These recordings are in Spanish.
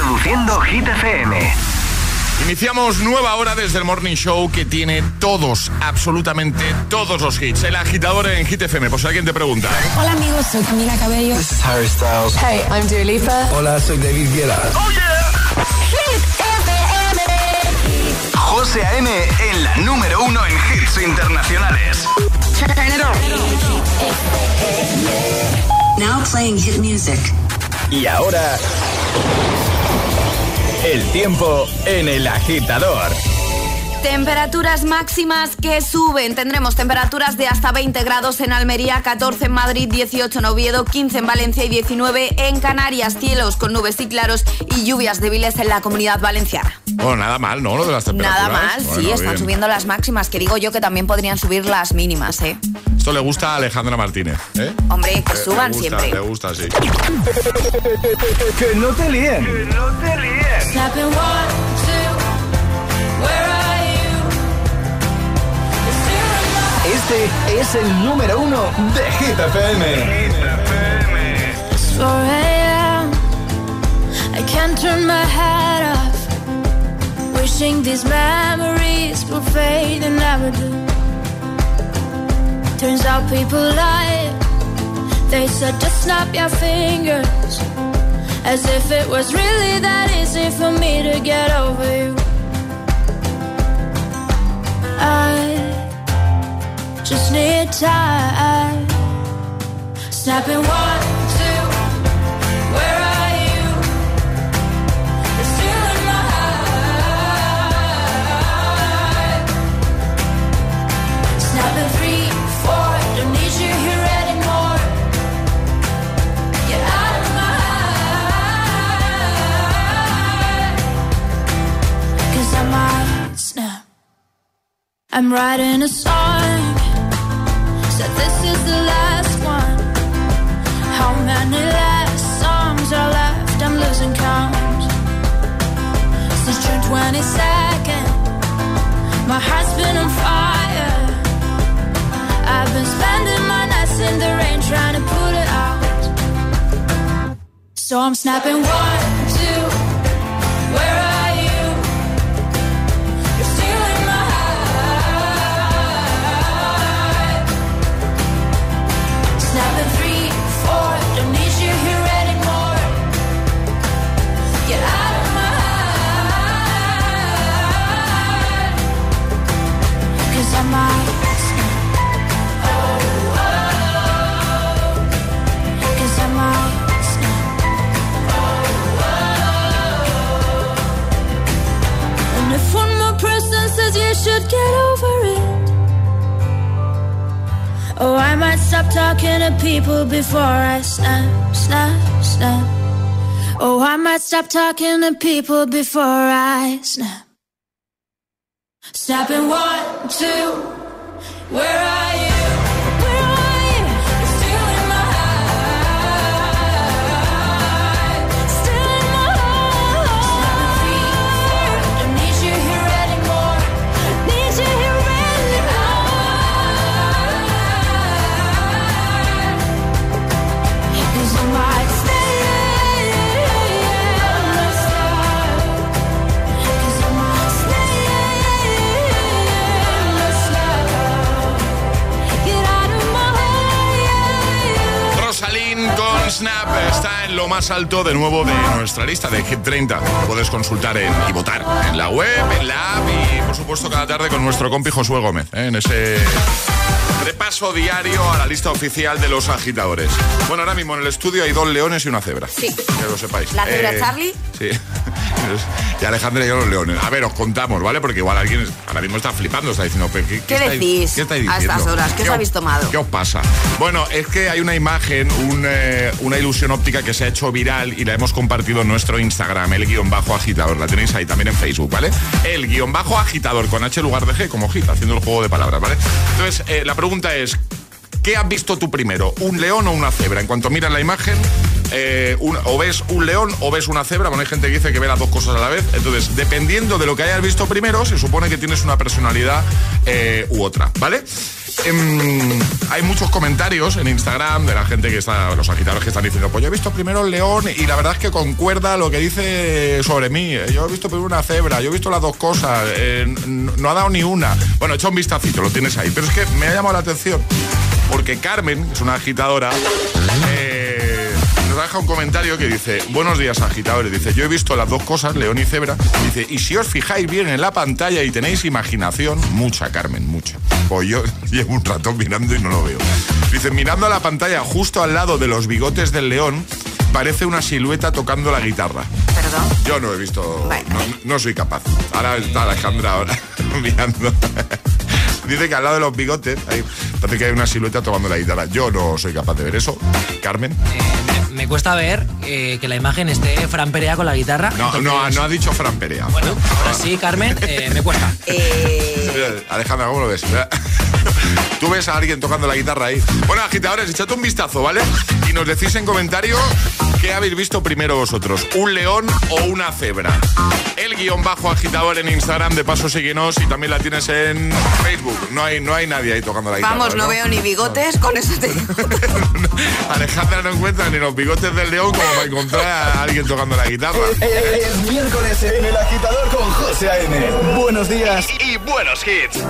Reproduciendo Hit FM. Iniciamos nueva hora desde el Morning Show que tiene todos, absolutamente todos los hits. El agitador en Hit FM, por si alguien te pregunta. Hola amigos, soy Camila Cabello. This is Harry Styles. Hey, I'm Dua Lipa. Hola, soy David Guetta. ¡Oh, yeah! Hit FM. José A.M. en la número 1 en hits internacionales. Turn it on. Now playing hit music. Y ahora... el tiempo en El Agitador. Temperaturas máximas que suben. Tendremos temperaturas de hasta 20 grados en Almería, 14 en Madrid, 18 en Oviedo, 15 en Valencia y 19 en Canarias. Cielos con nubes y claros y lluvias débiles en la Comunidad Valenciana. Bueno, nada mal, ¿no? Lo de las temperaturas. Nada mal, bueno, sí, están bien subiendo las máximas, que digo yo que también podrían subir las mínimas, ¿eh? Esto le gusta a Alejandra Martínez, ¿eh? Hombre, que suban gusta, siempre. Le gusta, sí. Que no te líen. Que no te líen. Este es el número 1 de Hit FM. 4 a.m. I can't turn my head off. Wishing these memories will fade and never do. Turns out people lie. They said just snap your fingers, as if it was really that easy for me to get over you. I just need time. Snapping 1, 2, where are you? You're still in my heart. Snapping 3, 4, don't need you here anymore. Get out of my heart. 'Cause I might snap. I'm writing a song. Said this is the last one. How many last songs are left? I'm losing count. Since June 22nd, my heart's been on fire. I've been spending my nights in the rain trying to put it out. So I'm snapping 1, 2, where are you? You're still in my heart. Snapping 3, 4, don't need you here anymore. Get out of my heart. 'Cause I might snap. Oh, oh, oh. 'Cause I might snap. Oh, oh. And if one more person says you should get over it, oh, I might stop talking to people before I snap, snap, snap. Oh, I might stop talking to people before I snap. Snapping 1, 2, where are you? Where are you? You're still in my heart. Still in my heart. Snapping 3, 4, don't need you here anymore. Need you here anymore. 'Cause I might stay. 'Cause I might stay. Get out of my heart. Rosalind con Snap está en lo más alto de nuevo de nuestra lista de Hit 30. Lo puedes consultar y votar en la web, en la app y por supuesto cada tarde con nuestro compi Josué Gómez, en ese repaso diario a la lista oficial de los agitadores. Bueno, ahora mismo en el estudio hay 2 leones y una cebra. Sí. Que lo sepáis. ¿La cebra Charlie? Sí. Y Alejandra y yo los leones. A ver, os contamos, ¿vale? Porque igual alguien ahora mismo está flipando, está diciendo... ¿Qué decís ¿qué estáis diciendo? a estas horas? ¿Qué os habéis tomado? ¿Qué os pasa? Bueno, es que hay una imagen, una ilusión óptica que se ha hecho viral y la hemos compartido en nuestro Instagram, el_agitador. La tenéis ahí también en Facebook, ¿vale? El_agitador con H en lugar de G, como hit, haciendo el juego de palabras, ¿vale? Entonces, la pregunta es... ¿Qué has visto tú primero? ¿Un león o una cebra? En cuanto miras la imagen, o ves un león o ves una cebra. Bueno, hay gente que dice que ve las dos cosas a la vez. Entonces, dependiendo de lo que hayas visto primero, se supone que tienes una personalidad u otra, ¿vale? hay muchos comentarios en Instagram de la gente que está, los agitadores que están diciendo, pues yo he visto primero el león y la verdad es que concuerda lo que dice sobre mí. Yo he visto primero una cebra, yo he visto las dos cosas, no ha dado ni una. Bueno, echa un vistacito, lo tienes ahí. Pero es que me ha llamado la atención porque Carmen, que es una agitadora, nos deja un comentario que dice: buenos días, agitadores. Dice: yo he visto las dos cosas, león y cebra. Dice: y si os fijáis bien en la pantalla y tenéis imaginación, mucha, Carmen, mucha. Pues yo llevo un ratón mirando y no lo veo. Dice: mirando a la pantalla justo al lado de los bigotes del león, parece una silueta tocando la guitarra. ¿Perdón? Yo no he visto... Bueno. No soy capaz. Ahora está Alejandra ahora mirando. Dice que al lado de los bigotes ahí parece que hay una silueta tocando la guitarra. Yo no soy capaz de ver eso. Carmen. Me cuesta ver que la imagen esté Fran Perea con la guitarra. No, entonces... no ha dicho Fran Perea. Bueno, ahora sí, Carmen, me cuesta. Alejandra, ¿cómo lo ves? Tú ves a alguien tocando la guitarra ahí. Bueno, agitadores, echad un vistazo, ¿vale? Y nos decís en comentarios qué habéis visto primero vosotros, un león o una cebra. El _agitador en Instagram, de paso síguenos, y también la tienes en Facebook. No hay nadie ahí tocando la guitarra. Vamos, no veo ni bigotes, con eso te digo. Alejandra no encuentra ni los bigotes del león como para encontrar a alguien tocando la guitarra. Es miércoles en El Agitador con José A.M. Buenos días y buenos hits.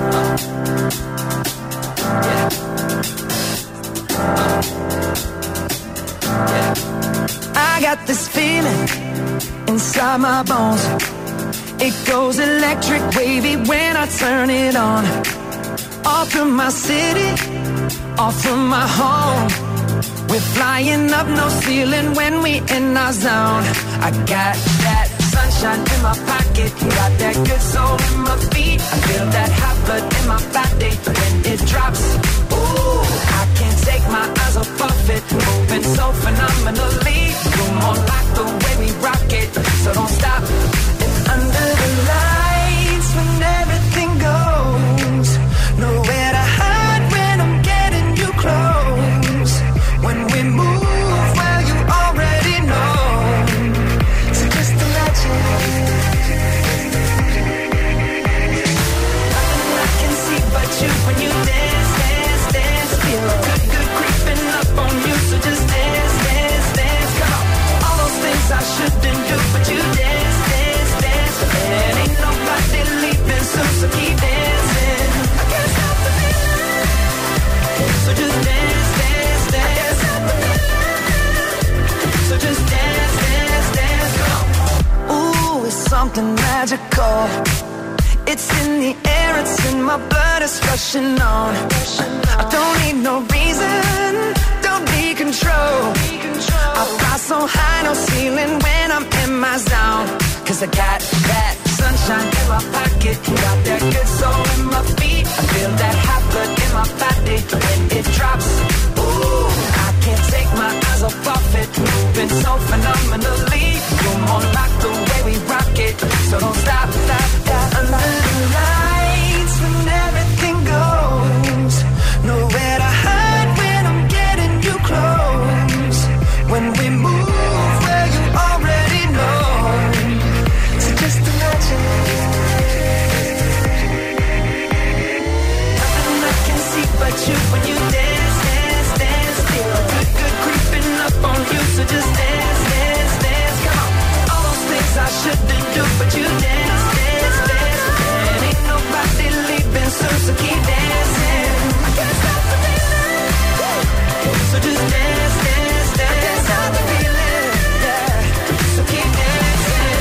I got this feeling inside my bones. It goes electric wavy when I turn it on. Off from my city, off from my home. We're flying up, no ceiling when we in our zone. I got that sunshine in my pocket, got that good soul in my feet. I feel that hot blood in my body when it drops. Ooh, I can't take my eyes off of it, moving so phenomenally. You're more like the way we rock it, so don't stop. And under the lights, when everything goes, nowhere to hide when I'm getting you close. When we move, well, you already know. So just imagine. Nothing I can see but you when you dance, dance, dance. Feel good, good creeping up on you. So just dance, dance, dance. Come on. All those things I shouldn't do, but you dance, dance, dance. And ain't nobody leaving soon, so keep dancing. I can't stop the feeling. So just dance, dance, dance. I can't stop the feeling. So just dance, dance, dance. Come on. Ooh, it's something magical. It's in the air, it's in my blood, it's rushing on. I don't need no reason, don't need control. I fly so high, no ceiling when I'm in my zone. Cause I got that sunshine in my pocket, got that good soul in my feet. I feel that hot blood in my body when it drops. Ooh, I can't take my eyes off of it, moving so phenomenally. You're more like the way we rock it, so don't stop, stop, stop. Under the lights, when everything goes, nowhere to hide when I'm getting you close. When we move, well, you already know. So just imagine. Nothing I can see but you when you dance, dance, dance. Feel good, good creeping up on you. So just dance, dance, dance. Come on. All those things I shouldn't do, but you dance, dance, dance. And ain't nobody leaving soon, so keep dancing. I can't stop the feeling. So just dance, dance, dance. I can't stop the feeling. Yeah. So keep dancing.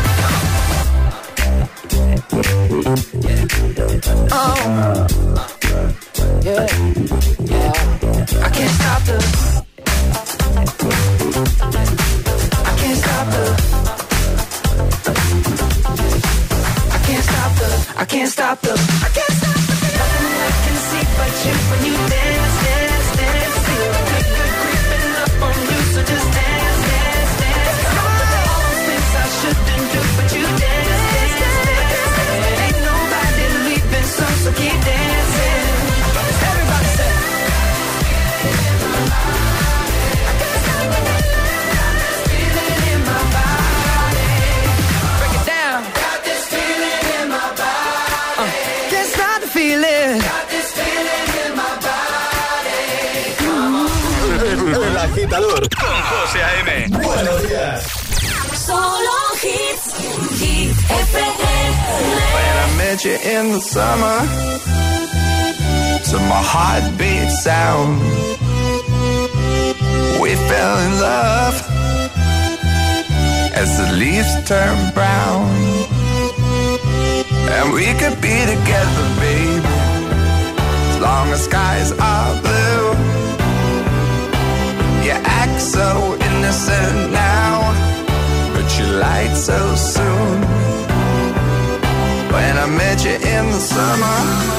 Oh. Yeah. Yeah. I can't stop the. I can't stop the. I can't stop the. I can't stop the. I can't stop the. Nothing I can see but you when you dance, dance, dance. Feel good, good creeping up on you, so just dance, dance, dance. All those things I shouldn't do, but you dance, dance, dance. And ain't nobody leaving soon, so keep dancing. Everybody say. I can't stop the feeling in my body. Break it down. Got this feeling in my body. agitador con José A.M. Buenos días. Solo hits. Hit FM. When I met you in the summer, to my heartbeat sound, we fell in love as the leaves turn brown. And we could be together, baby, as long as skies are blue. You act so innocent now, but you lied so soon. When I met you in the summer,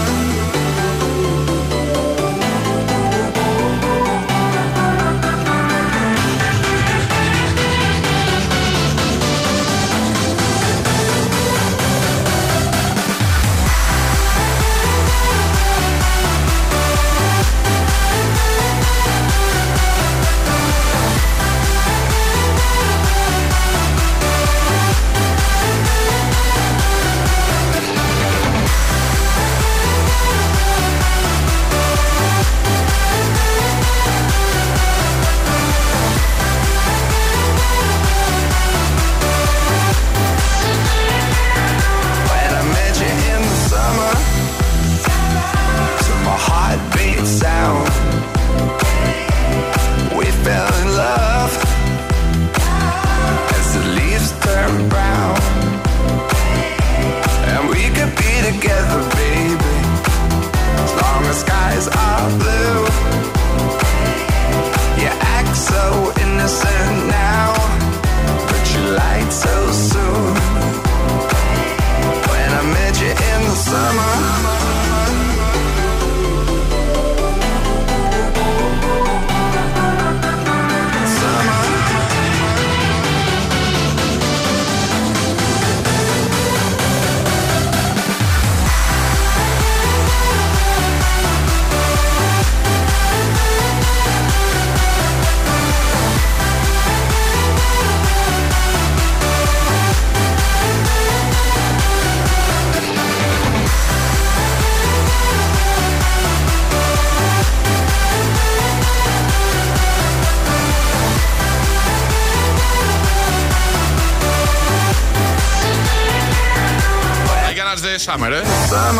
de Summer, ¿eh?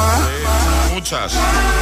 Sí, muchas.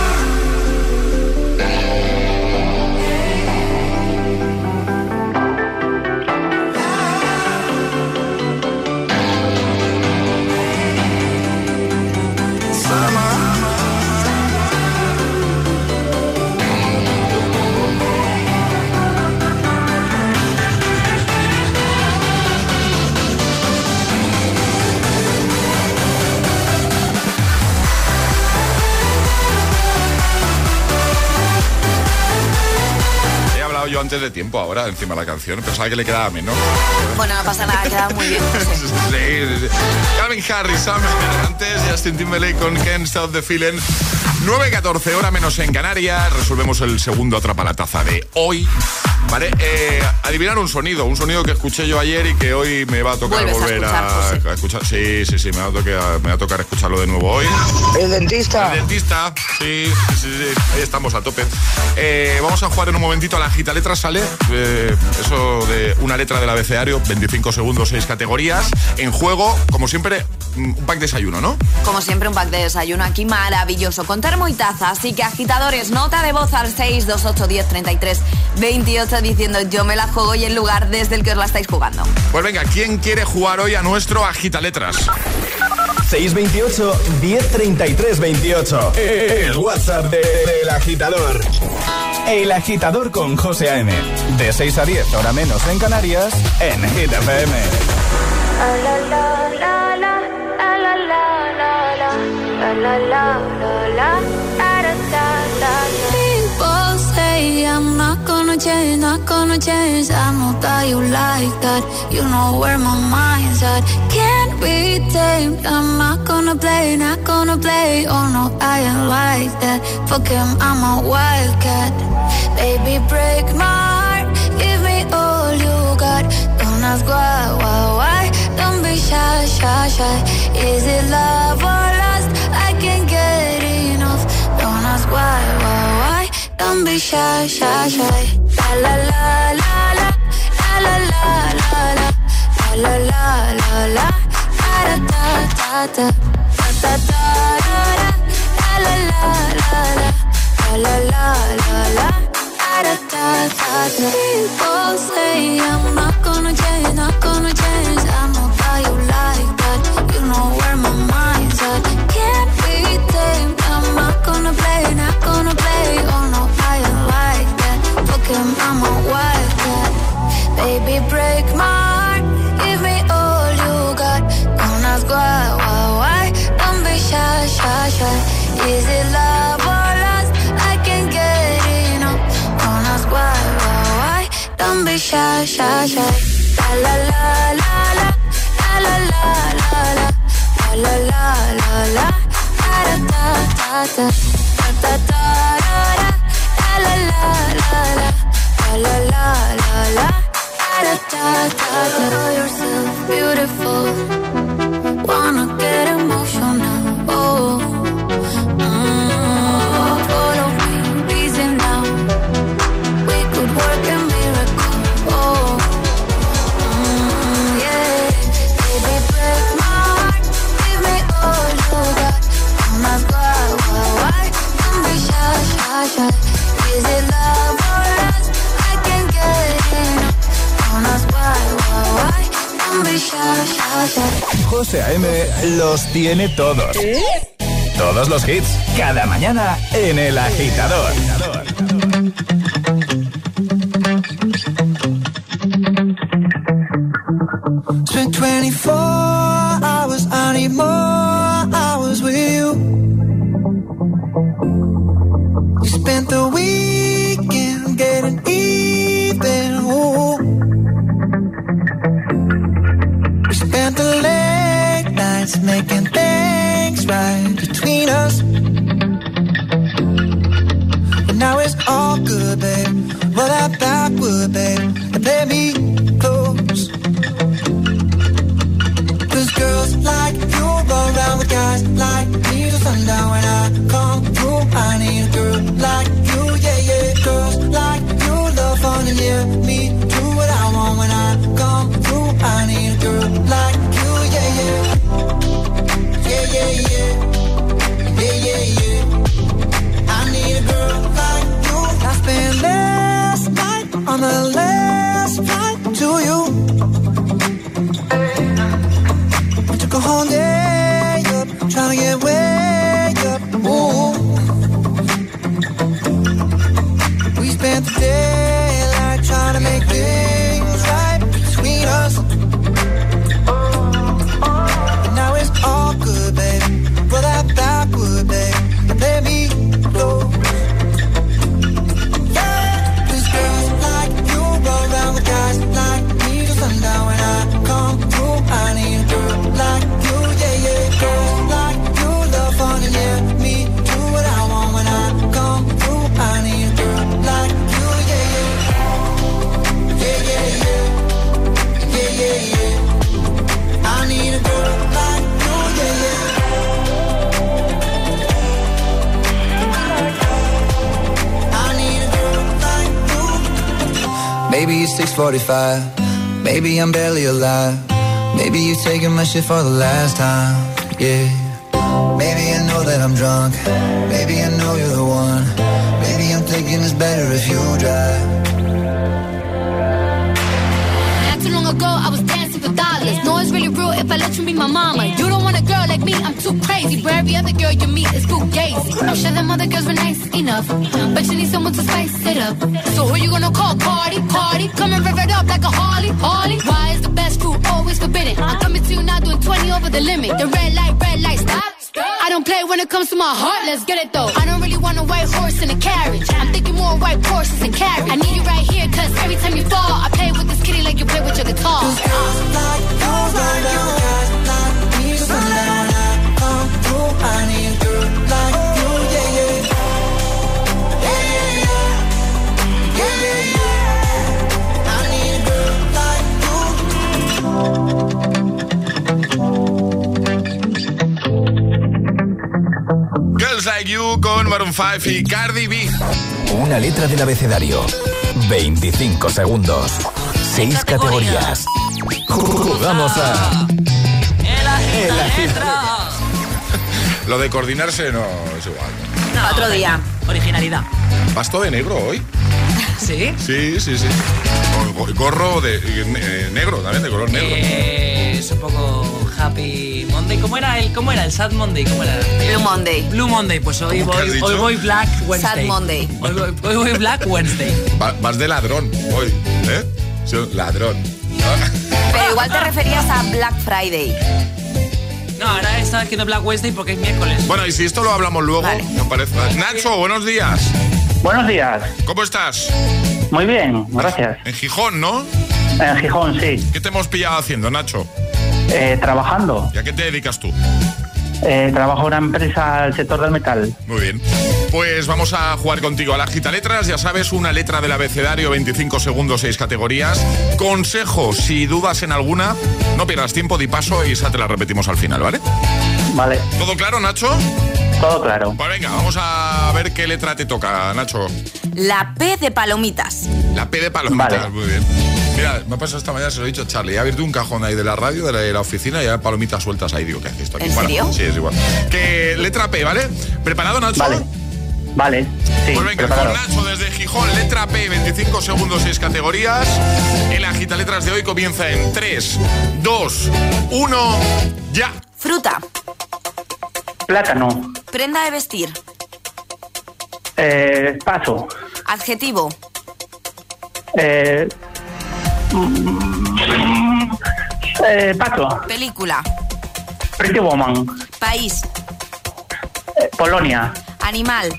Yo antes de tiempo ahora encima de la canción pensaba que le quedaba menos. Bueno, no pasa nada, queda muy bien. Sí. Calvin Harris, Summer, antes Justin Timberlake con Can't Stop the Feeling. 9:14, hora menos en Canarias. Resolvemos el segundo Atrapalataza de hoy. Vale, adivinar un sonido que escuché yo ayer y que hoy me va a tocar volver a escuchar. Sí, me va a tocar escucharlo de nuevo hoy. El dentista, sí, ahí estamos a tope. Vamos a jugar en un momentito a la gita letra, ¿sale? Eso de una letra del abecedario, 25 segundos, 6 categorías. En juego, como siempre, un pack de desayuno, ¿no? Como siempre, un pack de desayuno aquí maravilloso, con termo y taza. Así que, agitadores, nota de voz al 628 10 33 28 diciendo yo me la juego y el lugar desde el que os la estáis jugando. Pues venga, ¿quién quiere jugar hoy a nuestro agitaletras? 628 1033 28. El WhatsApp del agitador. El agitador con José A.M. De 6 a 10, hora menos en Canarias, en Hit FM. People say I'm not gonna change. I know that you like that. You know where my mind's at. Can't be tamed. I'm not gonna play. Oh no, I ain't like that. Fuck him, I'm a wildcat. Baby, break my heart. Give me all you got. Don't ask why. Don't be shy. Is it love or lust? I can't get enough. Don't ask why. Don't Don't be shy, shy, shy. La la la la la, la la la la, la la la la, da da da da, da da da da, la la la la, la la la la, da da da da. People say I'm not gonna change, not gonna change. I know how you like that. You know where my mind's at. Can't be tamed. I'm not gonna play, not gonna play. Oh no, I ain't like that. Look at mama, wild cat. Baby, break my heart. Give me all you got. Don't ask why. Don't be shy, shy, shy. Is it love or lust? I can't get enough. Don't ask why. Don't be shy, shy, shy. La la la la, la la la la la, la la la la, da da da da, da da da da, la la la la, la la la la, da da da da. Know yourself beautiful, wanna get emotional. Oh, follow me, reason now. We could work a miracle. Oh, yeah. Baby, break my heart. Give me all you got. Don't ask why. Don't be shy, shy, shy. Is it love or lust? I can't get enough. Don't ask why. Don't be shy, shy, shy. José A.M. los tiene todos. Todos los hits, cada mañana en El Agitador. Spent 24 hours, I need more hours with you. You spent the weekend getting even. Ooh. We spent the late nights making things right between us. But now it's all good, babe. Roll that backward, babe, and play me close. Cause girls like you go around with guys like me till sundown. When I come through, I need a girl like you, yeah, yeah. Girls like you love fun and yeah, me do what I want. When I come through, I need a girl like you, yeah, yeah. Yeah, yeah, yeah. Yeah, yeah, yeah. I need a girl like you. I spent last night on the last flight to you. We took a whole day up, trying to get way up. Ooh. We spent the daylight trying to make things right between us. And now it's all good, babe. Roll that backward, babe, and let me go. Cause girls like you go around with guys like me till sundown. When I come through, I need a girl like you, yeah, yeah. Girls like you love fun and yeah, me do what I want. When I come through, I need a girl like you, yeah, yeah. Yeah, yeah, yeah. Yeah, yeah, yeah. I need a girl like you, yeah, yeah. I need a girl like you. Maybe it's 6:45. Maybe I'm barely alive. Maybe you're taking my shit for the last time. Yeah. Maybe I know that I'm drunk. Maybe I know you're the one. Maybe I'm thinking it's better if you drive. Not too long ago, I was dancing for dollars. No, it's really real if I let you be my mama. You don't want a girl like me, I'm too crazy. Where every other girl you meet is fugazi. I'm sure them other girls were nice enough, but you need someone to spice it up. So who you gonna call? Cardi? Come and rev it up like a Harley. Why is the best food always forbidden? I'm coming to you now doing 20 over the limit. The red light, stop. I don't play when it comes to my heart, let's get it though. I don't really want a white horse in a carriage. I'm thinking more white horses and carriage. I need you right here, cause every time you fall, I play with this kitty like you play with your guitar. Cause girls like you, like guys like me till sundown. When I come through, I need a girl like you, yeah, yeah. Yeah, yeah, yeah. Yeah, yeah, yeah. I need a girl like you. Girls Like You con Maroon 5 y Cardi B. Una letra del abecedario. 25 segundos. 6 categorías. Jugamos a... El agitador. Lo de coordinarse no es igual. No, otro día. Originalidad. ¿Vas todo de negro hoy? ¿Sí? Sí. Gorro de negro también, de color negro. Es un poco Happy Monday. ¿Cómo era el Sad Monday? ¿Cómo era? Blue Monday. Blue Monday, pues hoy voy Black Wednesday. Sad Monday. Hoy voy Black Wednesday. Vas de ladrón hoy, ¿eh? Sí, ladrón. Pero igual te referías a Black Friday. No, ahora estaba haciendo Black Wednesday porque es miércoles. Bueno, y si esto lo hablamos luego, vale. ¿no parece? Nacho, buenos días. Buenos días. ¿Cómo estás? Muy bien, gracias. En Gijón, ¿no? En Gijón, sí. ¿Qué te hemos pillado haciendo, Nacho? Trabajando. ¿Y a qué te dedicas tú? Trabajo en una empresa del sector del metal. Muy bien. Pues vamos a jugar contigo a la agitaletras. Ya sabes, una letra del abecedario, 25 segundos, 6 categorías. Consejo, si dudas en alguna, no pierdas tiempo, di paso y esa te la repetimos al final, ¿vale? Vale. ¿Todo claro, Nacho? Todo claro. Pues venga, vamos a ver qué letra te toca, Nacho. La P de palomitas. La P de palomitas, Vale. muy bien. Mira, me ha pasado esta mañana, se lo he dicho a Charlie. He abierto un cajón ahí de la radio, de la oficina, y hay palomitas sueltas ahí. Digo, ¿qué haces esto aquí? ¿En serio? Sí, es igual. Que letra P, ¿vale? ¿Preparado, Nacho? Vale. Sí, Pues venga, preparado. con Nacho desde Gijón, letra P, 25 segundos, 6 categorías. El agitaletras de hoy comienza en 3, 2, 1, ya. Fruta. Plátano. Prenda de vestir. Paso. Adjetivo. Paso. Película. Pretty Woman. País. Polonia. Animal.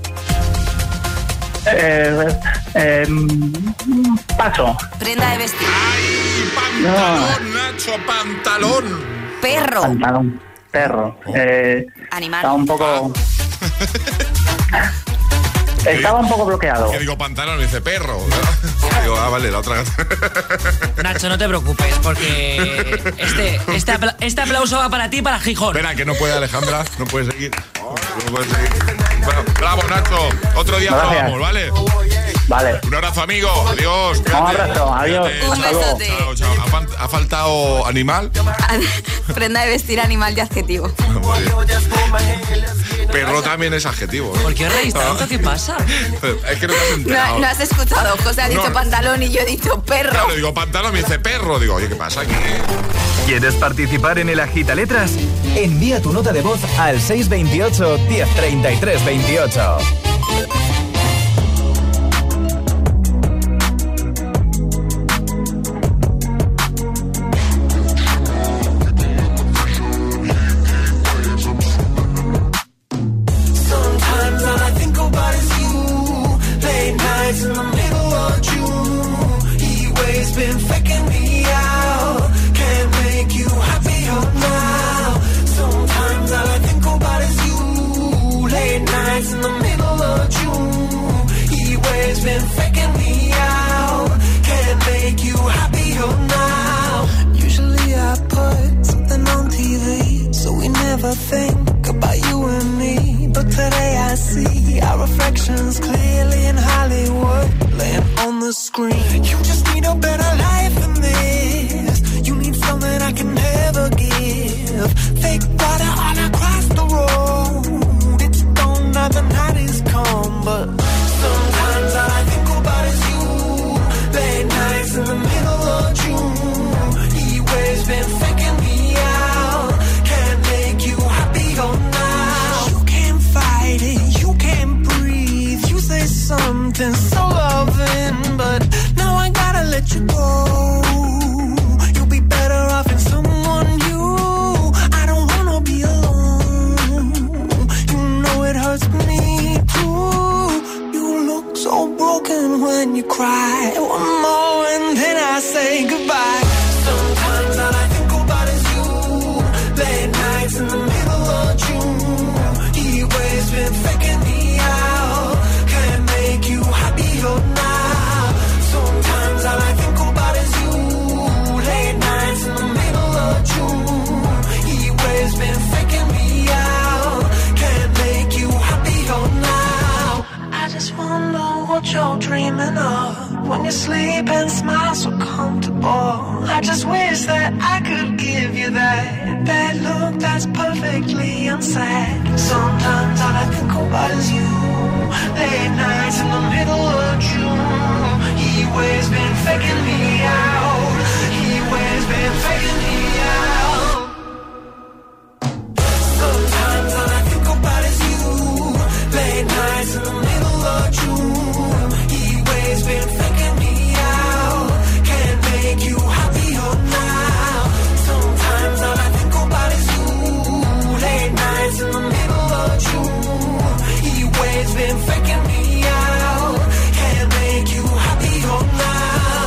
Paso. Prenda de vestir. ¡Ay, pantalón, Nacho, pantalón! Perro. Pantalón. Perro. Animal. Estaba un poco... Estaba un poco bloqueado. Que digo pantalón, dice perro. Digo, vale, la otra. Nacho, no te preocupes, porque este aplauso va para ti y para Gijón. Espera, que no puede Alejandra, no puede seguir. No puede seguir. Bueno, bravo, Nacho. Otro día probamos, ¿vale? Vale. Un abrazo, amigo. Adiós. Un abrazo, adiós. Un besote. Chao, chao. ¿Ha faltado animal? Prenda de vestir, animal y adjetivo. Perro también es adjetivo. ¿Por qué os reís tanto? ¿Qué pasa? Es que no te has enterado. No has escuchado. José ha dicho pantalón y yo he dicho perro. Claro, digo pantalón, me dice perro. Digo, oye, ¿qué pasa aquí? ¿Quieres participar en el agitaletras? Envía tu nota de voz al 628 1033 28. Think about you and me, but today I see our reflections clearly in Hollywood, laying on the screen. You just need a better life than this. You need something I can never give. Fake water all across the road. It's gone now, the night is come, but sometimes all I think about is you. Late nights in the middle of June. He always been faking me out. Can't make you happy. sleep and smile so comfortable. I just wish that I could give you that look that's perfectly unsaid. Sometimes all I think about is you. Late nights in the middle of June. He always been faking me out. He always been faking me out. Sometimes all I think about is you. Late nights in the middle of June. He always been faking me out. Can't make you happier now. Sometimes all I think about is you. Late nights in the middle of June. He always been faking me out. Can't make you happier now.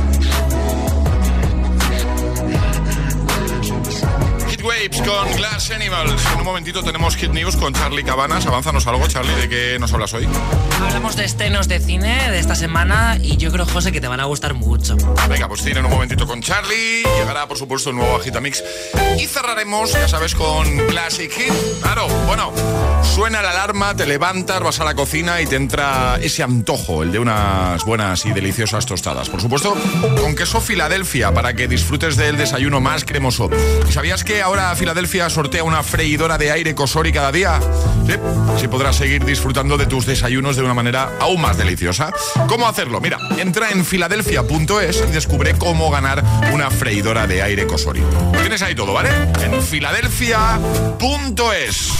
Hit Waves con Glass Animals. En un momentito tenemos Hit News con Charlie Cabanas. Avánzanos algo, Charlie, ¿de qué nos hablas hoy? Hablamos de estrenos de cine de esta semana y yo creo, José, que te van a gustar mucho. Venga, pues cine en un momentito con Charlie. Llegará, por supuesto, el nuevo Agitamix. Y cerraremos, ya sabes, con Classic Hit. Claro, bueno, suena la alarma, te levantas, vas a la cocina y te entra ese antojo, el de unas buenas y deliciosas tostadas. Por supuesto, con queso Filadelfia, para que disfrutes del desayuno más cremoso. ¿Y sabías que ahora Filadelfia sortea una freidora de aire Cosori cada día? Sí, así podrás seguir disfrutando de tus desayunos de una manera aún más deliciosa. ¿Cómo hacerlo? Mira, entra en filadelfia.es y descubre cómo ganar una freidora de aire Cosori. Lo tienes ahí todo, ¿vale? En filadelfia.es.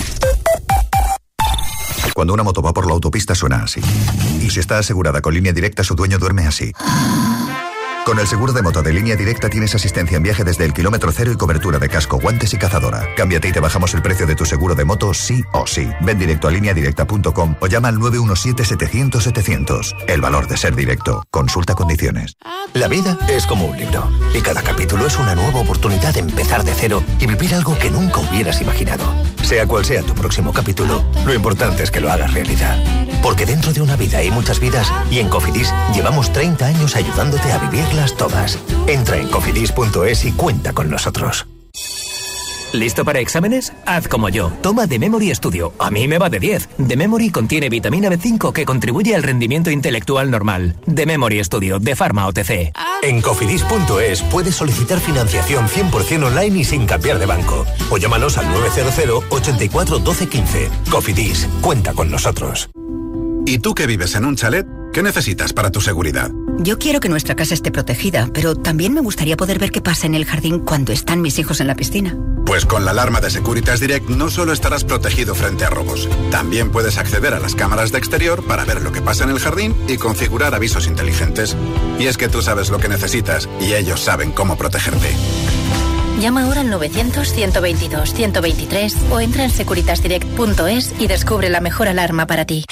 Cuando una moto va por la autopista suena así. Y si está asegurada con Línea Directa, su dueño duerme así. Con el seguro de moto de Línea Directa tienes asistencia en viaje desde el kilómetro cero y cobertura de casco, guantes y cazadora. Cámbiate y te bajamos el precio de tu seguro de moto sí o sí. Ven directo a lineadirecta.com o llama al 917-700-700. El valor de ser directo. Consulta condiciones. La vida es como un libro y cada capítulo es una nueva oportunidad de empezar de cero y vivir algo que nunca hubieras imaginado. Sea cual sea tu próximo capítulo, lo importante es que lo hagas realidad. Porque dentro de una vida hay muchas vidas y en Cofidis llevamos 30 años ayudándote a vivirlas todas. Entra en cofidis.es y cuenta con nosotros. ¿Listo para exámenes? Haz como yo. Toma The Memory Studio. A mí me va de 10. The Memory contiene vitamina B5 que contribuye al rendimiento intelectual normal. The Memory Studio, de Pharma OTC. En cofidis.es puedes solicitar financiación 100% online y sin cambiar de banco. O llámanos al 900 84 12 15. Cofidis, cuenta con nosotros. ¿Y tú que vives en un chalet? ¿Qué necesitas para tu seguridad? Yo quiero que nuestra casa esté protegida, pero también me gustaría poder ver qué pasa en el jardín cuando están mis hijos en la piscina. Pues con la alarma de Securitas Direct no solo estarás protegido frente a robos, también puedes acceder a las cámaras de exterior para ver lo que pasa en el jardín y configurar avisos inteligentes. Y es que tú sabes lo que necesitas y ellos saben cómo protegerte. Llama ahora al 900-122-123 o entra en securitasdirect.es y descubre la mejor alarma para ti.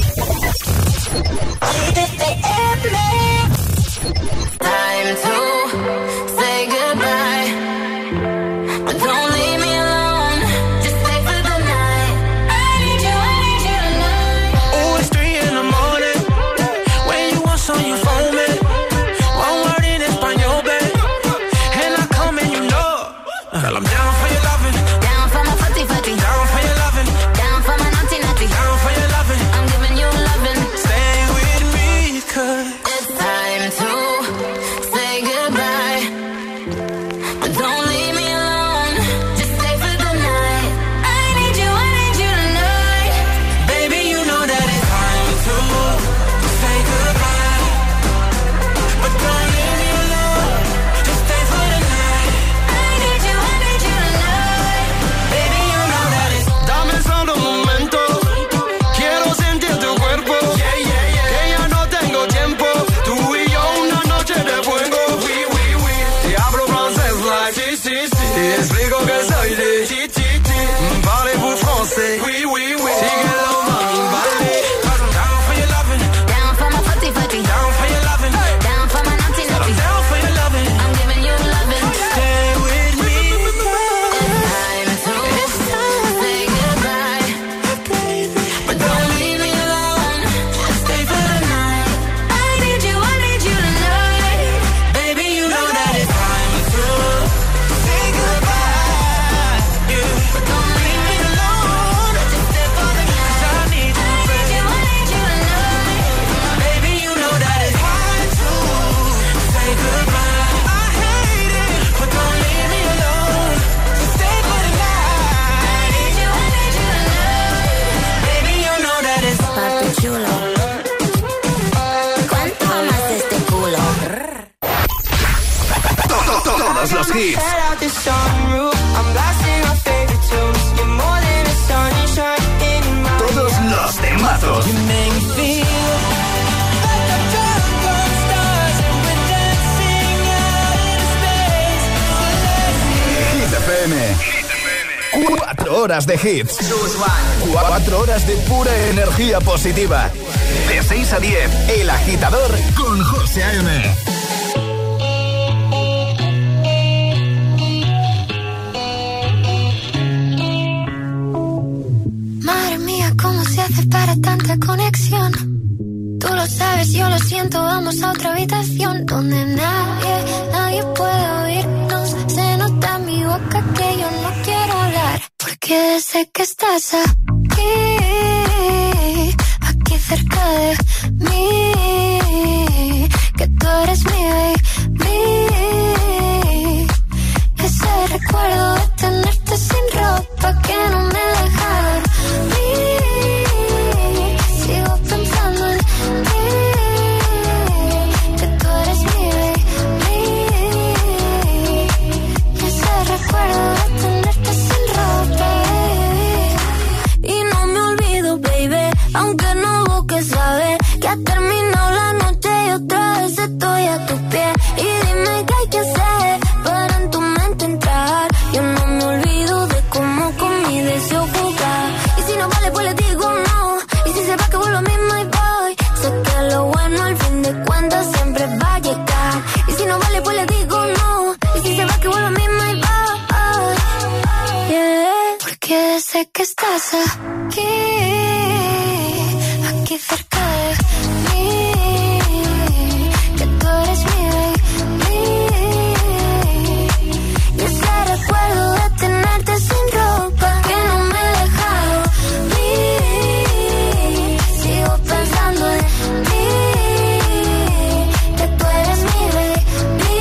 Time to say goodbye, but don't leave me alone. Just stay for the night. I need you tonight. Oh, it's 3 in the morning. When you want some, you phone me. One word in Espanol, babe, and I come and you know. Girl, I'm down for your loving, Down for my footy footy, down for your loving, down for my naughty naughty, down for your loving. I'm giving you loving. Stay with me, 'cause it's time to say goodbye, but don't leave me alone. Just stay for the night. I need you tonight. baby, you know that it's time to say goodbye, but don't leave me alone. Just stay for the night. I need you tonight. los hits. Todos los temazos. Hit FM. 4 horas de hits. 4 horas de pura energía positiva. De 6 a 10, El Agitador con José A.M. Madre mía, ¿cómo se hace para tanta conexión? Tú lo sabes, yo lo siento, vamos a otra habitación donde nadie puede oírnos. Se nota en mi boca que yo no quiero hablar, porque sé que estás aquí cerca de mí, que tú eres mi baby. Ese recuerdo de tenerte sin ropa que no me deja dormir. Sigo pensando en ti, que tú eres mi baby. Ese recuerdo de tenerte sin ropa, y no me olvido, baby, aunque no busques saber que ha terminado la noche y otra vez estoy a tus pies. Y dime qué hay que hacer para en tu mente entrar. Yo no me olvido de cómo con mi deseo jugar. Y si no vale, pues le digo no. Y si se va, que vuelvo a mí, my boy. Sé que lo bueno al fin de cuentas siempre va a llegar. Y si no vale, pues le digo no. Y si se va, que vuelvo a mí, my boy. Yeah. Porque sé que estás aquí cerca de mí, que tú eres mi baby. Y ese recuerdo de tenerte sin ropa que no me deja dormir. Sigo pensando en ti, que tú eres mi baby.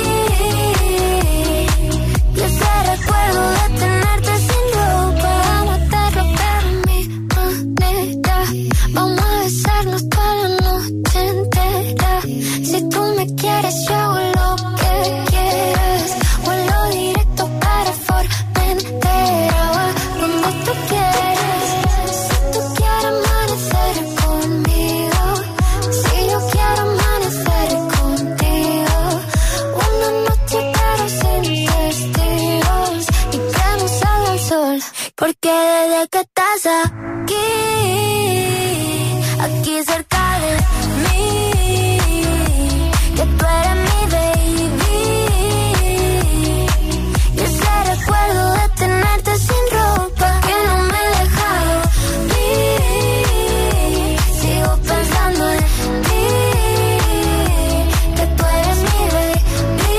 Y ese recuerdo de tenerte sin ropa, vamos a hacerlo pero a mi manera. Vamos a besarnos toda la noche entera. Si tú me quieres, yo hago lo que quieras. Vuelo directo para Formentera, donde tú quieras. Si tú quieres amanecer conmigo, si yo quiero amanecer contigo. Una noche pero sin testigos, y que no salga el sol, porque desde que estás aquí cerca de mí, que tú eres mi baby. Y ese recuerdo de tenerte sin ropa que no me deja dormir. Sigo pensando en ti, que tú eres mi baby.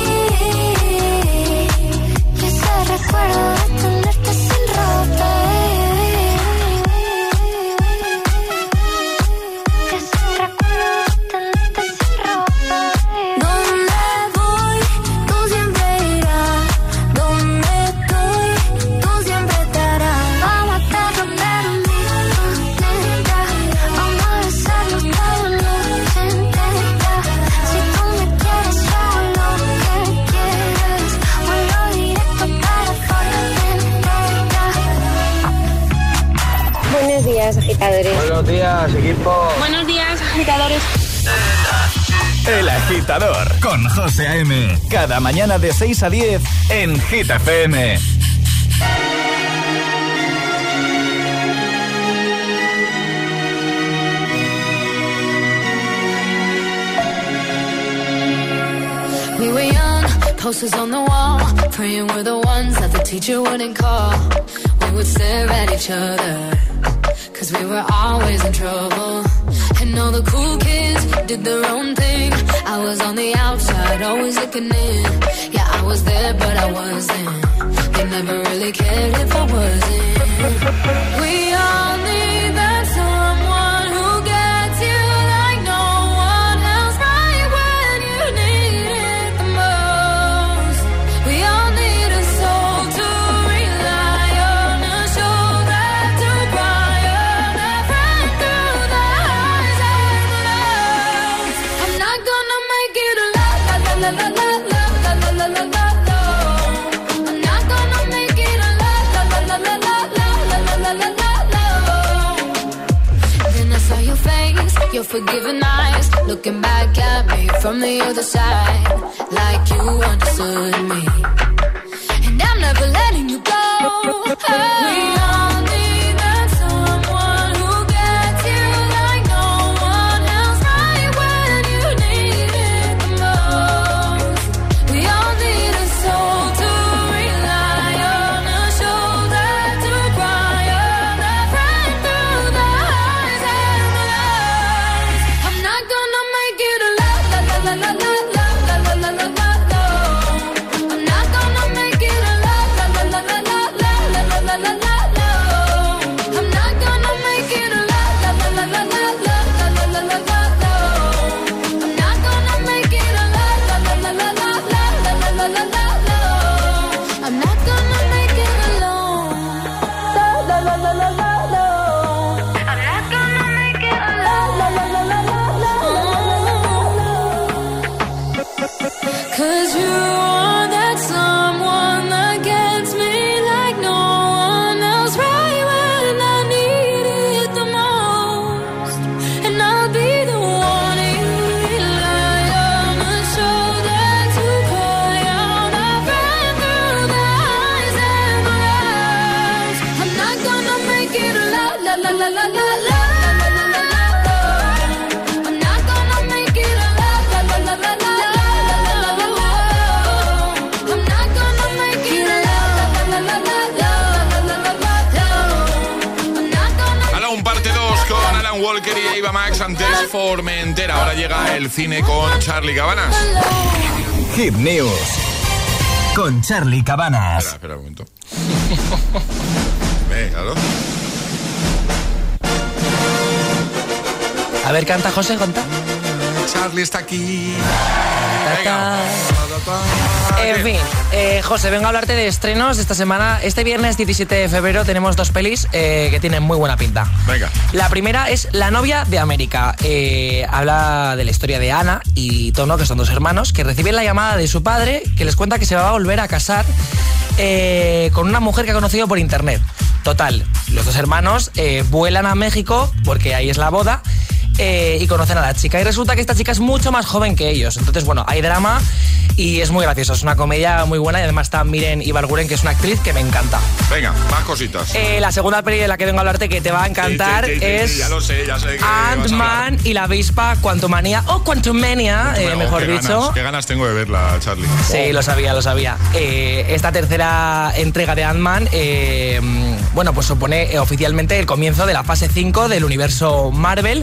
Y ese recuerdo de tenerte sin ropa, agitadores. Buenos días, equipo. Buenos días, agitadores. El Agitador con José A.M. Cada mañana de 6 a 10 en Hit FM. We were young, posters on the wall, praying we're the ones that the teacher wouldn't call. We would stare at each other, cause we were always in trouble. And all the cool kids did their own thing. I was on the outside, always looking in. Yeah, I was there, but I wasn't. They never really cared if I wasn't. We all need that someone who gets you like no one else, right when you need it the most. We all need a soul to rely on, a shoulder to cry on, a friend through the highs and the lows. I'm not gonna make it a la la la la la la la la la la la. unforgiving eyes, looking back at me from the other side, like you understood me. And I'm never letting you go. We all need that someone who gets you like no one else, right when you need it the most. We all need a soul to rely on, a shoulder to cry on, a friend through the highs and the lows. I'm not gonna make it a la la la la la la la la la la la. I'm not gonna make it a la la la la la la la la la la la. I'm not gonna make it a la la la la la la la la la la la. I'm not gonna make it a la la la la la la la la la la la. I'm not gonna make it alone. La la la la la la la. I'm not gonna make it a la la la la la la la. 'Cause you are that someone that gets me like no one else, right when I need it the most. And I'll be the one you rely on, a shoulder to cry on, a friend through the highs and the lows. I'm not gonna make it a la la la la la la la. I'm not gonna make it a la la la la la la. I'm not gonna make it a la la la la la la. I'm not gonna. Alan parte 2 con Alan Walker y Eva Max, antes Formentera. Ahora llega el cine con Charlie Cabanas. Hit News con Charlie Cabanas. Espera un momento. Venga, ¿no? A ver, canta, José, canta. Charlie está aquí. Ta, ta. En fin, José, vengo a hablarte de estrenos esta semana. Este viernes 17 de febrero tenemos dos pelis que tienen muy buena pinta. Venga. La primera es La novia de América. Habla de la historia de Ana y Tono, que son dos hermanos, que reciben la llamada de su padre, que les cuenta que se va a volver a casar con una mujer que ha conocido por internet. Total, los dos hermanos vuelan a México, porque ahí es la boda, y conocen a la chica. Y resulta que esta chica es mucho más joven que ellos. Entonces, bueno, hay drama y es muy gracioso. Es una comedia muy buena y además está Miren Ibarguren, que es una actriz que me encanta. Venga, más cositas. La segunda peli de la que vengo a hablarte, que te va a encantar, es ya lo sé, ya sé que Ant-Man y la avispa Quantumania, o Quantumania, mejor dicho. Qué ganas tengo de verla, Charlie. Sí, lo sabía. Esta tercera entrega de Ant-Man, bueno, pues supone oficialmente el comienzo de la fase 5 del universo Marvel.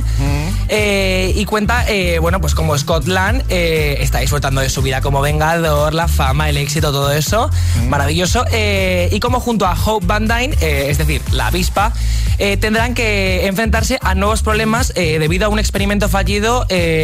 Y cuenta, bueno, pues como Scott Lang está disfrutando de su vida como Vengador, la fama, el éxito, todo eso, maravilloso, y como junto a Hope Van Dyne, es decir, la avispa, tendrán que enfrentarse a nuevos problemas debido a un experimento fallido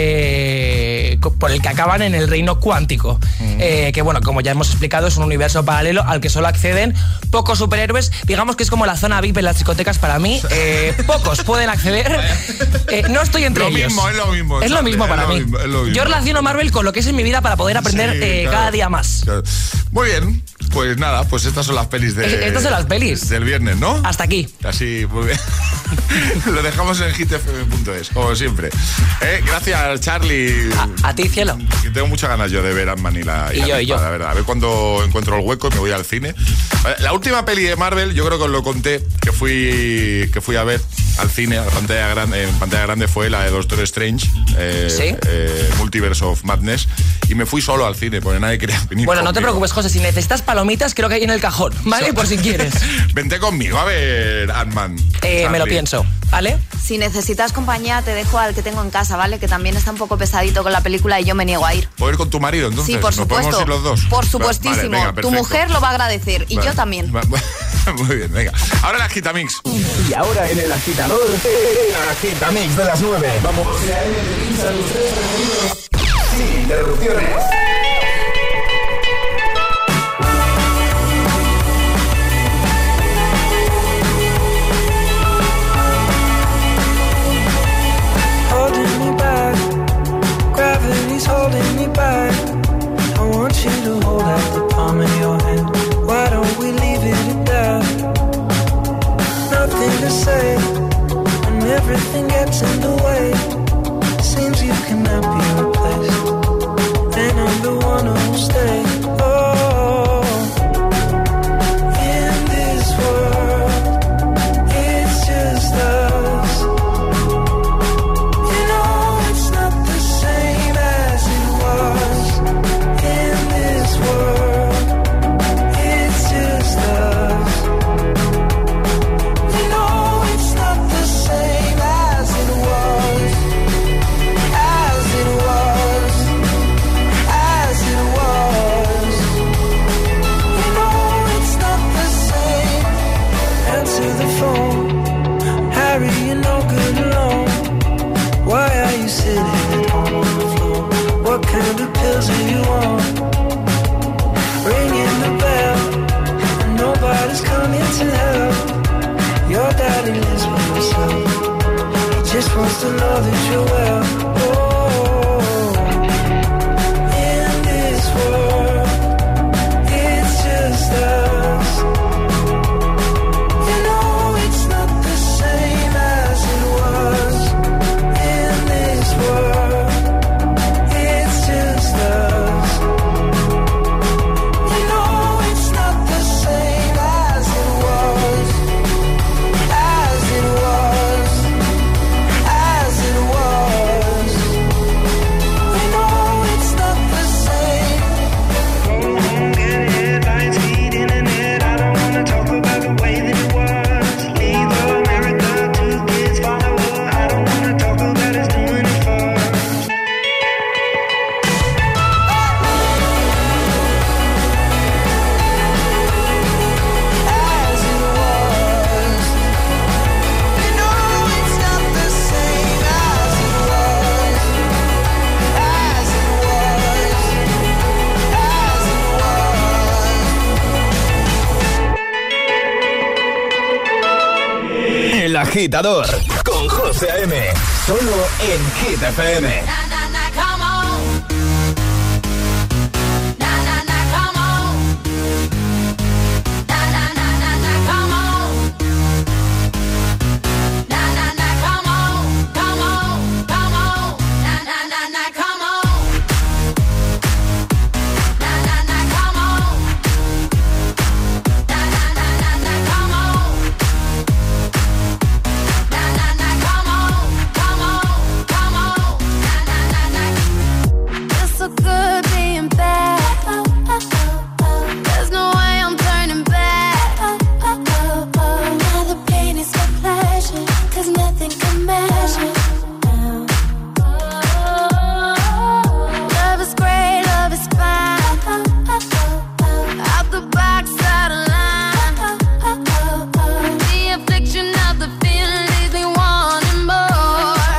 por el que acaban en el reino cuántico, que bueno, como ya hemos explicado, es un universo paralelo al que solo acceden pocos superhéroes. Digamos que es como la zona VIP en las discotecas para mí. Pocos pueden acceder. No estoy entre ellos. Es lo mismo para mí. Yo relaciono Marvel con lo que es en mi vida para poder aprender cada día más. Claro. Muy bien, pues nada, pues estas son las pelis estas son las pelis del viernes, ¿no? Hasta aquí. Así, muy bien. Lo dejamos en hitfm.es, como siempre. Gracias, Charlie. A ti, cielo. Tengo muchas ganas yo de ver Ant-Man y la yo. La verdad. A ver cuando encuentro el hueco y me voy al cine. La última peli de Marvel, yo creo que os lo conté, que fui a ver al cine, a la pantalla grande, en pantalla grande, fue la de Doctor Strange, ¿sí? Multiverse of Madness, y me fui solo al cine porque nadie quería venir. Bueno, no te preocupes, José, si necesitas palomitas, creo que hay en el cajón, ¿vale? Por si quieres. Vente conmigo a ver Ant-Man. Me lo pienso, ¿vale? Si necesitas compañía, te dejo al que tengo en casa, ¿vale? Que también está un poco pesadito con la película y yo me niego a ir. ¿Puedo ir con tu marido, entonces? Sí, por ¿Nos supuesto. podemos ir los dos? Por supuestísimo. Vale, venga, tu mujer lo va a agradecer y yo también. Muy bien, venga. Ahora el Agitamix. Y ahora en el agitador, el Agitamix de las 9. Vamos. Sin interrupciones. Holding me back, gravity's holding me back. I want you to hold out the palm of your hand. Why don't we leave it at that? Nothing to say when everything gets in the way. else do you want? Ringing the bell, and nobody's coming to help. Your daddy lives with himself. He just wants to know that you're well. Oh, in this world, it's just us. You know it's not the same as it was. In this world, it's just us. You know it's not the same as it was. As it was. As it was. You know it's not the same. Go home, get headlines, feed internet. I don't wanna talk about the way that it was. Leave America, 2 kids follow her. I don't wanna talk about us doing it first. As it was. You know it's not the same as it was. As it was. As it was. El Agitador con José A.M. Solo en Hit FM. It's so good being bad. There's no way I'm turning back. Now the pain is my pleasure, 'cause nothing can measure. Love is great, love is fine. Out the box, out of line. The affliction of the feeling leaves me wanting more.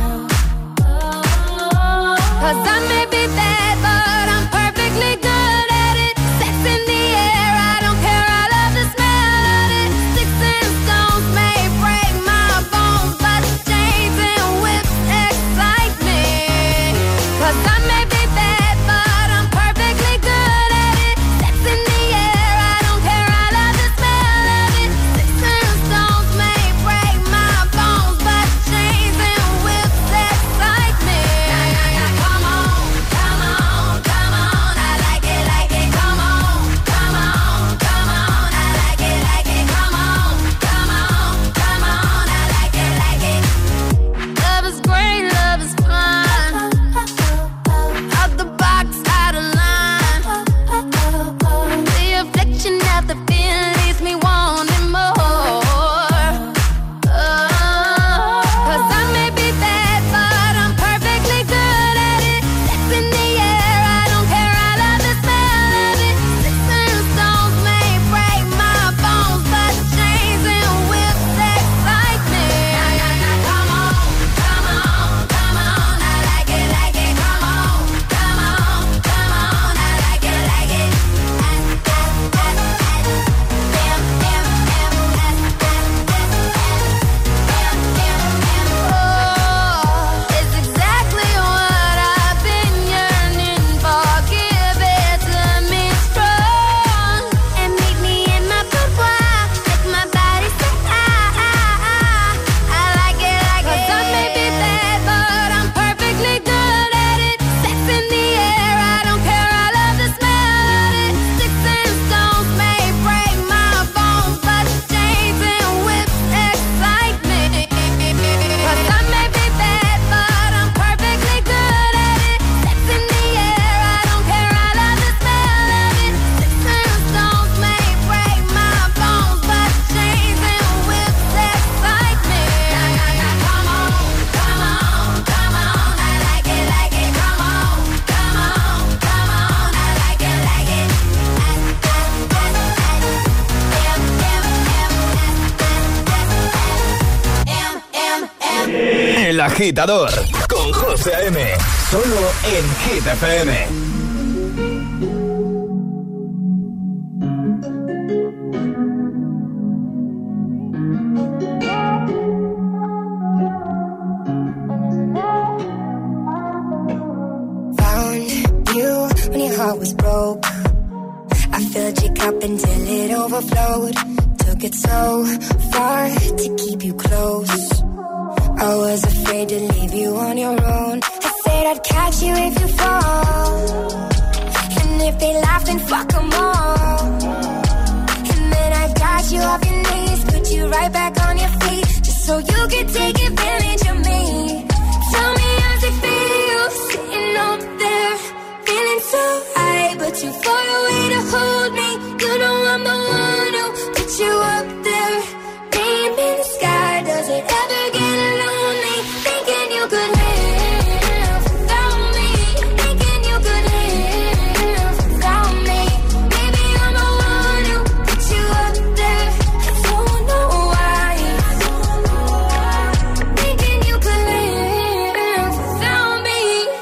'Cause I may be bad, but I'm perfectly good at it. Sex in the air, I don't care, I love the smell of it. Sticks and stones may break my bones, but chains and whips excite me. 'Cause I may be bad, but I'm perfectly good at it. Sex in the air, I don't care, I love the smell of it. Sticks and stones may break my bones, but chains and whips excite me. Come on, come on, come on, I like it, come on, come on, come on, I like it, come on, come on, come on, I like it. Love is great, love is fun. Out the box, out of line. The affliction of the feeling leaves me wanting more. 'Cause I may be bad, but I'm perfectly good at it. Sex in the air, I don't care, I love the smell of it. Sticks and stones may break my bones, but chains and whips excite me. Come on, come on, come on, I like it, come on, come on, come on, I like it. Oh, it's exactly what I've been yearning for. Give it to me strong and meet me in my boudoir. Make my body say I like it. 'Cause I may be bad, but I'm perfectly good at it. Sex in the air, I don't care, I love the smell of it. Sticks and stones may break my bones, but chains and whips excite me. 'Cause I may be bad, but I'm perfectly good at it. Sex in the air, I don't care, I love the smell of it. Sticks and stones may break my bones, but chains and whips excite me. Come on, come on, come on, I like it, come on, come on, come on, I like it. El Agitador con José A.M. Solo en Hit FM. till it overflowed. Took it so far to keep you close. I was afraid to leave you on your own. I said I'd catch you if you fall. And if they laugh, then fuck them all. And then I got you off your knees, put you right back on your feet, just so you could take advantage of me. Tell me how's it feel, sitting up there, feeling so high, but too far away to hold me. You know I'm the one who put you up there, name in the sky. Does it ever get lonely, thinking you could live without me, thinking you could live without me? Maybe I'm the one who put you up there, I don't know why, thinking you could live without me,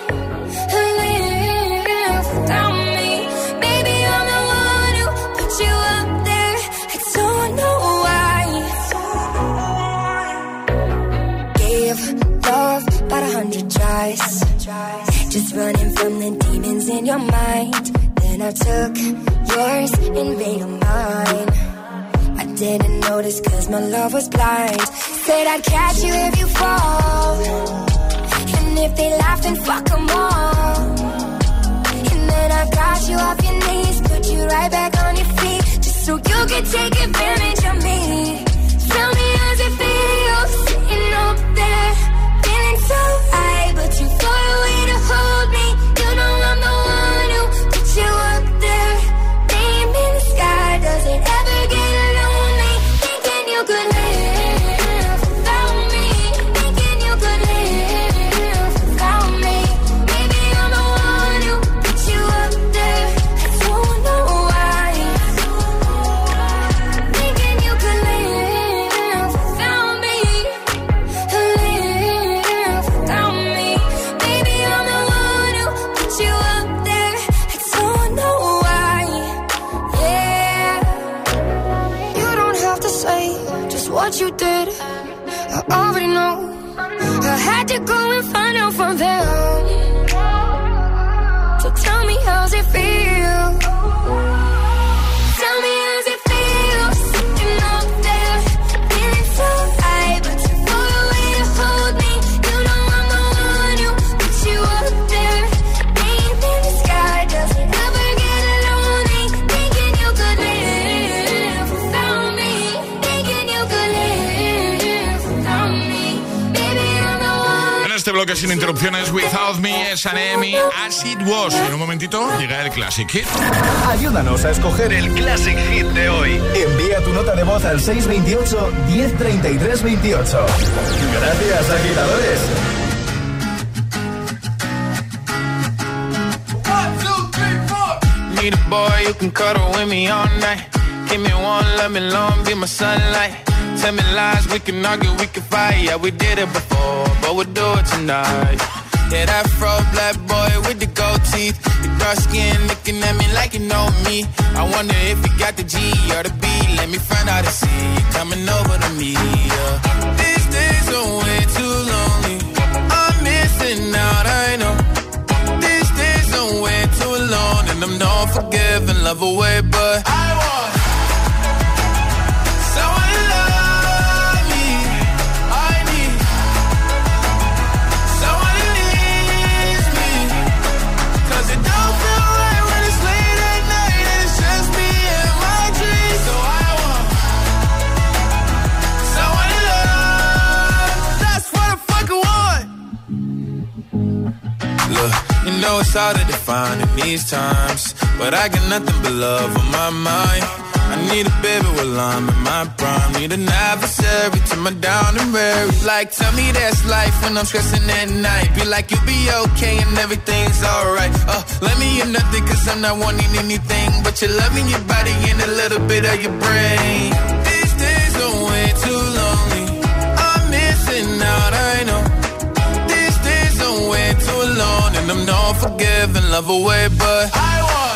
live without me. Maybe I'm the one who put you up there, I don't know why. Gave love about 100 tries, just running from the demons in your mind. Then I took yours and made them mine. I didn't notice cause my love was blind. Said I'd catch you if you fall. And if they laugh, then fuck them all. And then I got you off your knees, put you right back on your feet, just so you could take advantage of me. Tell me how's it feel, sitting up there, feeling so high, but too far away to hold me. You know I'm the one who put you up there, name in the sky. Does it ever get lonely, thinking you could live without me, thinking you could live without me? Maybe I'm the one who put you up there, I don't know why, thinking you could live without me, live without me. Maybe I'm the one who put you up there, I don't know why. Yeah, you don't have to say just what you did, I already know. I had to go and find out from them. So tell me how's it feel, tell me how's it feel, sitting up there, feeling so high, but too far away to hold me. You know I'm the one who put you up there, name in the sky. Does it ever get lonely, thinking you could live without me, thinking you could live without me? Baby, I'm the one. En este bloque sin interrupciones, Without Me, es Anemi, As It Was. En un momentito llega el Classic Hit. Ayúdanos a escoger el Classic Hit de hoy. Envía tu nota de voz al 628 1033 28. Gracias, agitadores. Need a boy who can cuddle with me all night. Give me one, let me long, be my sunlight. Tell me lies, we can argue, we can fight. Yeah, we did it before, but we'll do it tonight. Yeah, that fro black boy with the gold teeth, the dark skin looking at me like you know me. I wonder if you got the G or the B. Let me find out and see you coming over to me. Yeah. These days are way too lonely. I'm missing out, I know. These days are way too long, and I'm not forgiving, love away, but I want someone to love me. I need someone who needs me, 'cause it don't feel right when it's late at night and it's just me and my dreams. So I want someone to love. That's what I fucking want. Look, you know it's hard to define in these times, but I got nothing but love on my mind. I need a baby while I'm in my prime. Need an adversary to my down and weary. Like, tell me that's life when I'm stressing at night. Be like, you'll be okay and everything's alright. Let me in nothing 'cause I'm not wanting anything but your love in your body and a little bit of your brain. These days are way too lonely. I'm missing out, I know. These days are way too alone, and I'm not forgiving, love away, but I want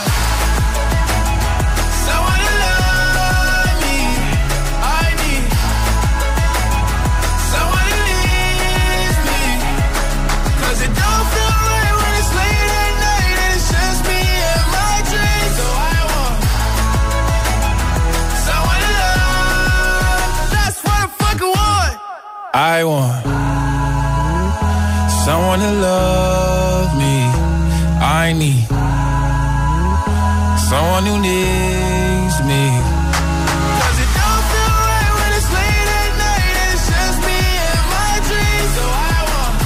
someone to love me. I need someone who needs me, 'cause it don't feel right when it's late at night and it's just me and my dreams. So I want I want someone to love me. I need someone who needs me. 'Cause it don't feel right when it's late at night and it's just me and my dreams. So I want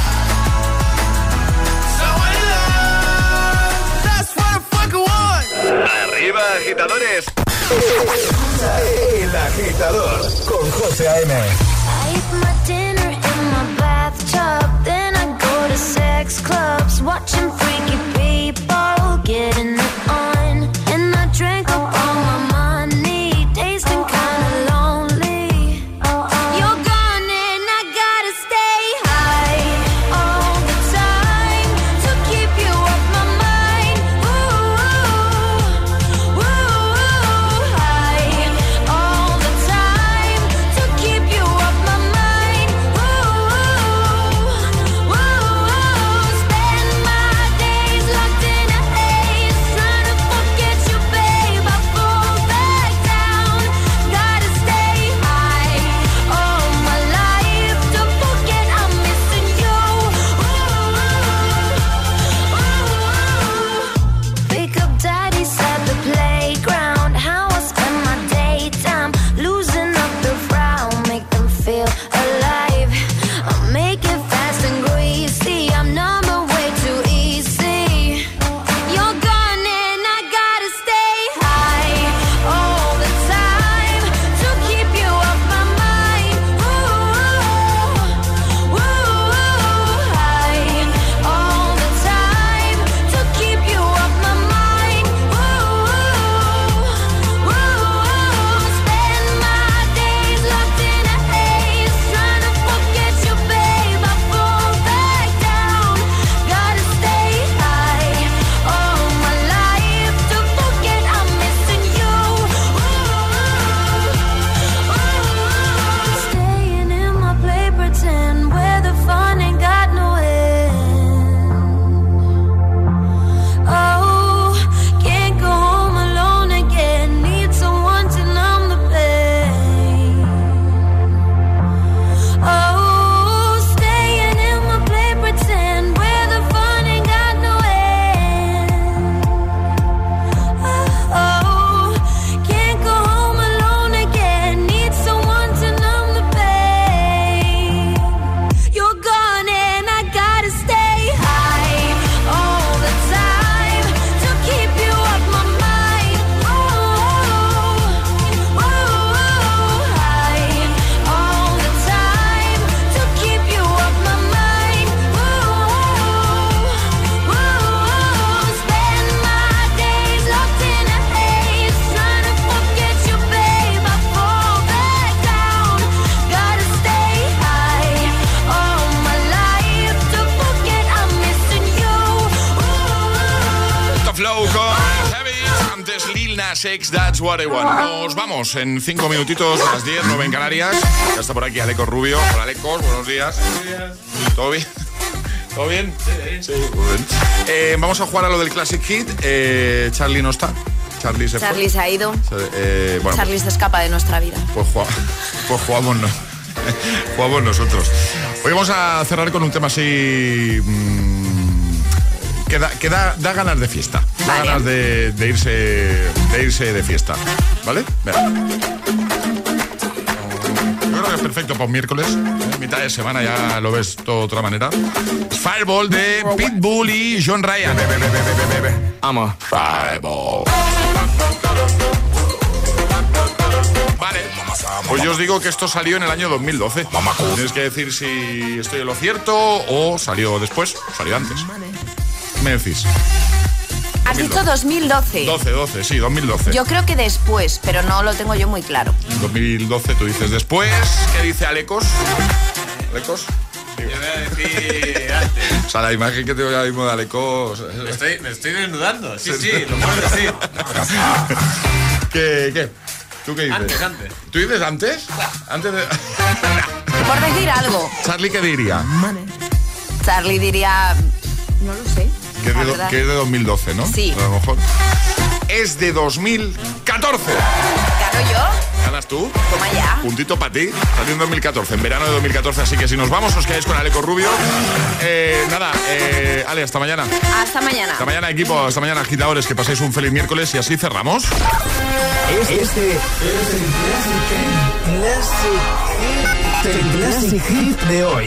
someone to love. That's what I fucking want. Arriba, agitadores. El Agitador con José A.M. I eat my dinner in my bathtub, then I go to sex clubs, watching freaky people getting it on. And I drank up all my money, days been kinda lonely. You're gone and I gotta stay high all the time to keep you off my mind. Ooh, high all the time to keep you off my mind. Spend my days locked in a haze, trying to forget you, babe. I fall back down, gotta stay high all my life to forget I'm missing you. Pick up daddy's at the playground, how I spend my daytime, losing up the frown, make them feel alive. I'll make it fast and greasy, I'm number way too easy. You're gone and I gotta stay high all the time to keep you off my mind. High all the time to keep you off my mind. Spend my days locked in a haze, trying to forget you, babe. I fall back down, gotta stay high all my life to forget I'm missing you. Staying in my play pretend where the fun ain't got no end. Oh, can't go home alone again, need someone to numb the pain. Oh, staying in my play pretend where the fun ain't got no end. Oh, can't go home alone again, need someone to numb the pain. You're gone and I gotta stay high all the time to keep you off my mind. High all the time to keep you off my mind. Spend my days locked in a haze, trying to forget you, babe. I fall back down, gotta stay high all my life to forget I'm missing you. Flow con Heavy, antes Lil Nas X, That's What I Want. Nos vamos en 5 minutitos a las 10, 9 en Canarias. Ya está por aquí Alecos Rubio. Hola Alecos, buenos días. ¿Todo bien? ¿Todo bien? Sí, muy bien. Vamos a jugar a lo del Classic Hit. Charlie no está. Charlie se Charlie fue. se ha ido. Bueno, Charlie se escapa de nuestra vida. pues jugamos, no. Jugamos nosotros. Hoy vamos a cerrar con un tema así que da ganas de fiesta. Da Vale. ganas de irse de fiesta. ¿Vale? Venga. Yo creo que es perfecto para un miércoles. Mitad de semana ya lo ves todo de otra manera. Fireball de Pitbull y John Ryan. Vamos. Fireball. Vale, pues yo os digo que esto salió en el año 2012. Tienes que decir si estoy en lo cierto o salió después, salió antes. ¿Me decís? Has dicho 2012. 12, sí, 2012. Yo creo que después, pero no lo tengo yo muy claro. 2012 tú dices después. ¿Qué dice Alecos? ¿Alecos? Yo voy a decir antes. O sea, la imagen que tengo ahora mismo de Alecos... Me estoy desnudando. Sí, lo puedo decir. ¿Qué? ¿Tú qué dices? Antes. ¿Tú dices antes? Antes de... Por decir algo. ¿Charlie qué diría? Charlie diría... No lo sé. Que es de 2012, ¿no? Sí. A lo mejor. Es de 2014. ¿Gano yo? Ganas vas tú. Toma ya. Puntito para ti. Salió en 2014, en verano de 2014. Así que si nos vamos, os quedáis con Aleco Rubio. Ale, hasta mañana. Hasta mañana. Hasta mañana, equipo. Hasta mañana, agitadores. Que paséis un feliz miércoles y así cerramos. Este es el Classic Hit de hoy.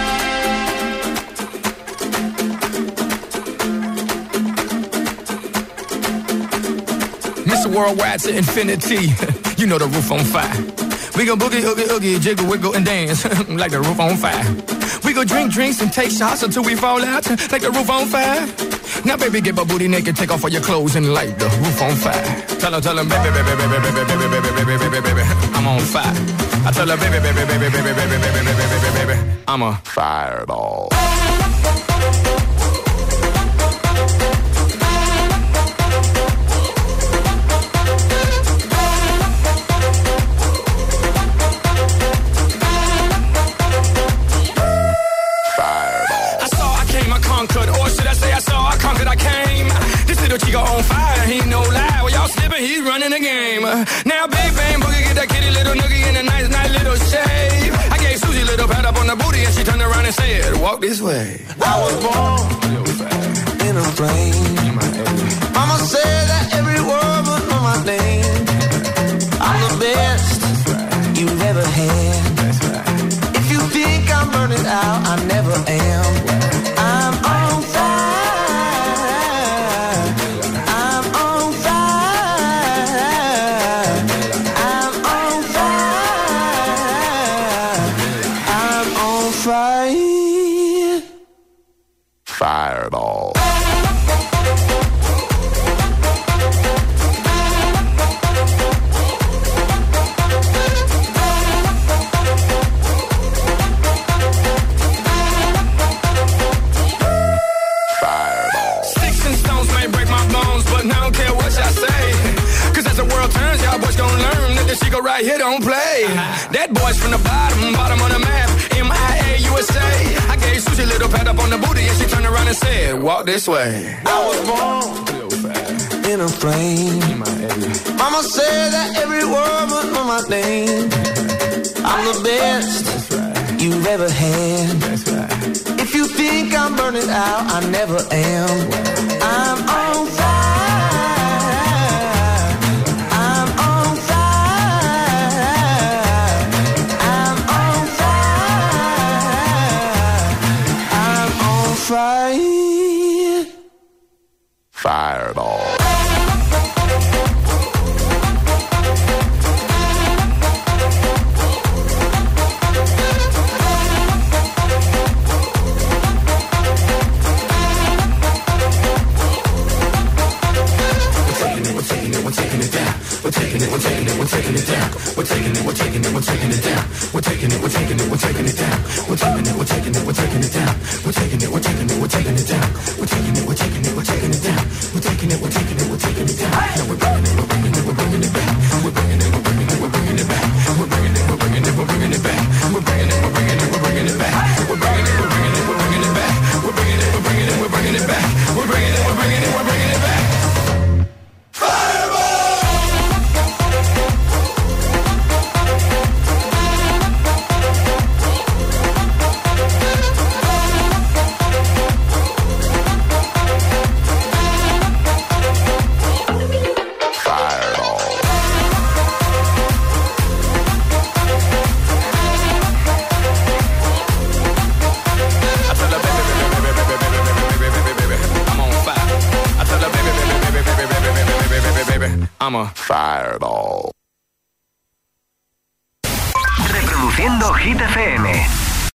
Mr. Worldwide to infinity. You know the roof on fire. We go boogie, oogie, oogie, jiggle, wiggle, and dance like the roof on fire. We go drink drinks and take shots until we fall out like the roof on fire. Now, baby, get my booty naked, take off all your clothes and light the roof on fire. Tell her, baby, baby, baby, baby, baby, baby, baby, baby, baby, I'm on fire. I tell her, baby, baby, baby, baby, baby, baby, baby, baby, baby, I'm a fireball. Chico on fire, he no lie. Well, y'all slipping, he's running the game. Now, big bang boogie, get that kitty little noogie in a nice, nice little shave. I gave Susie a little pat up on the booty, and she turned around and said, "Walk this way." I was born in a flame. Mama said that every word was know my name. I'm the best you've ever had. If you think I'm burning out, I never am. I'm on fire. Fireball. Sticks and stones may break my bones, but I don't care what y'all say. Cause as the world turns, y'all boys gon' learn that this shit go right here don't play. That boy's from the bottom of the map. MIA USA. I gave Susie a little pat up on the booty, and she turned around and said, "Walk this way." I was born in a flame. Mama said that every word was know my name. I'm the best you've ever had. If you think I'm burning out, I never am. I'm on fire. I'm on fire. I'm on fire. I'm on fire. Fireball. I'm a fireball. Reproduciendo Hit FM.